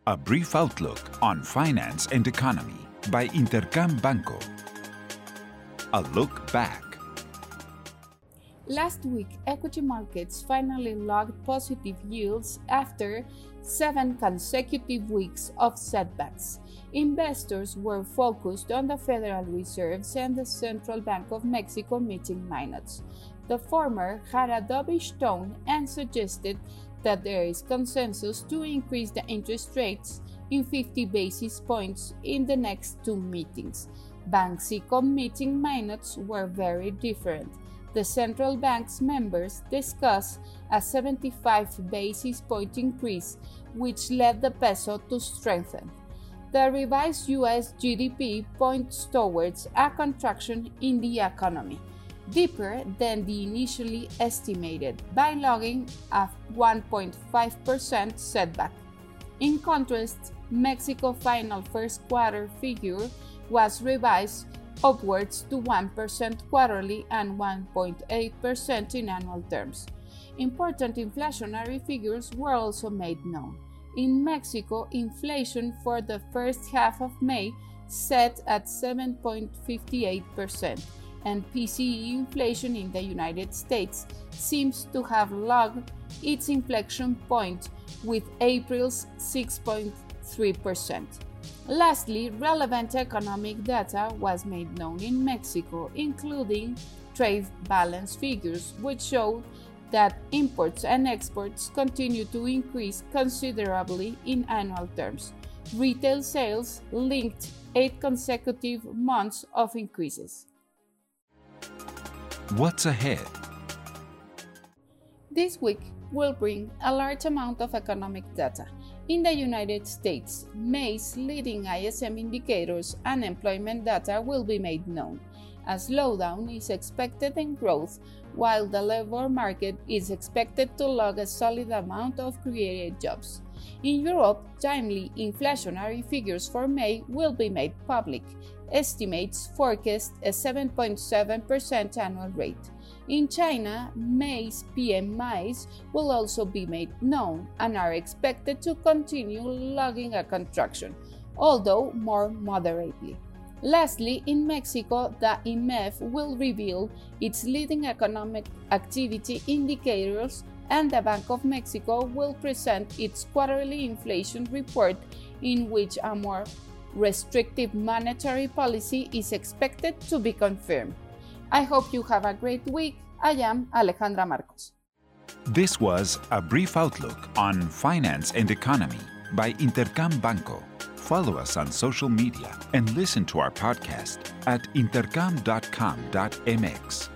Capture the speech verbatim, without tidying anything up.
A brief outlook on finance and economy by Intercam Banco. A look back. Last week, equity markets finally logged positive yields after seven consecutive weeks of setbacks. Investors were focused on the Federal Reserve's and the Central Bank of Mexico meeting minutes. The former had a dovish tone and suggested that there is consensus to increase the interest rates in fifty basis points in the next two meetings. Banxico meeting minutes were very different. The central bank's members discussed a seventy-five basis point increase, which led the peso to strengthen. The revised U S G D P points towards a contraction in the economy, deeper than the initially estimated, by logging a one point five percent setback. In contrast, Mexico's final first quarter figure was revised upwards to one percent quarterly and one point eight percent in annual terms. Important inflationary figures were also made known. In Mexico, inflation for the first half of May set at seven point five eight percent, and P C E inflation in the United States seems to have logged its inflection point with April's six point three percent. Lastly, relevant economic data was made known in Mexico, including trade balance figures, which showed that imports and exports continue to increase considerably in annual terms. Retail sales linked eight consecutive months of increases. What's ahead? This week will bring a large amount of economic data. In the United States, May's leading I S M indicators and employment data will be made known. A slowdown is expected in growth, while the labor market is expected to log a solid amount of created jobs. In Europe, timely inflationary figures for May will be made public. Estimates forecast a seven point seven percent annual rate. In China, May's P M Is will also be made known and are expected to continue logging a contraction, although more moderately. Lastly, in Mexico, the I M E F will reveal its leading economic activity indicators, and the Bank of Mexico will present its quarterly inflation report, in which a more restrictive monetary policy is expected to be confirmed. I hope you have a great week. I am Alejandra Marcos. This was a brief outlook on finance and economy by Intercam Banco. Follow us on social media and listen to our podcast at intercam dot com dot m x.